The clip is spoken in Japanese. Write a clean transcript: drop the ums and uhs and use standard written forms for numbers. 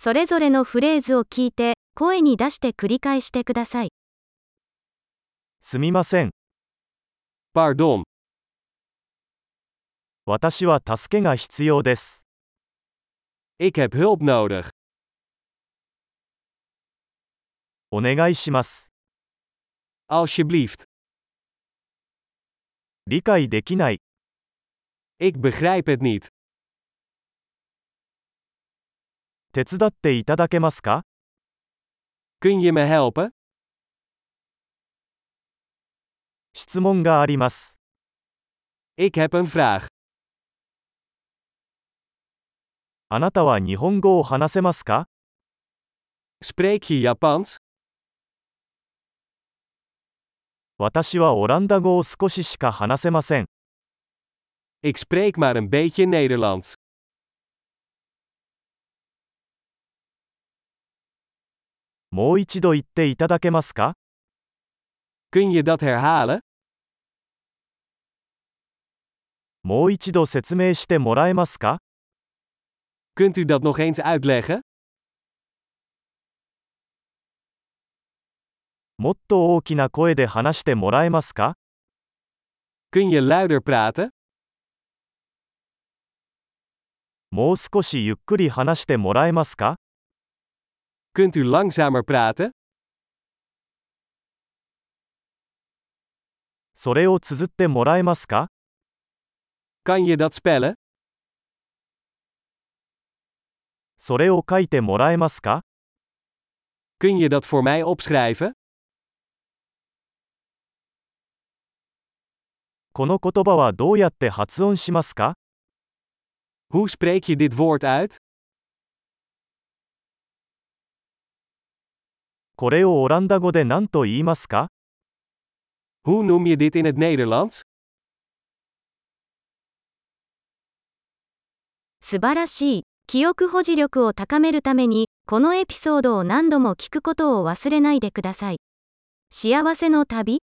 それぞれのフレーズを聞いて、声に出して繰り返してください。 すみません。 Pardon. 私は助けが必要です。 Ik heb hulp nodig. お願いします。 Alsjeblieft. 理解できない。 Ik begrijp het niet. 手伝っていただけますか？ Kun je me helpen? 質問があります。 Ik heb een vraag. あなたは日本語を話せますか？ Spreek je Japans? 私はオランダ語を少ししか話せません。 Ik spreek maar een beetje Nederlands. もう一度言っていただけますか？ Kun je dat herhalen? もう一度説明してもらえますか？ Kunt u dat nog eens uitleggen? もっと大きな声で話してもらえますか？ Kun je luider praten? もう少しゆっくり話してもらえますか？ Kunt u langzamer praten? それを綴ってもらえますか？ Kan je dat spellen? それを書いてもらえますか？ Kun je dat voor mij opschrijven? この言葉はどうやって発音しますか？ Hoe spreek je dit woord uit? これをオランダ語で何と言いますか？ Hoe noem je dit in het Nederlands? 素晴らしい。記憶保持力を高めるために、このエピソードを何度も聞くことを忘れないでください。幸せの旅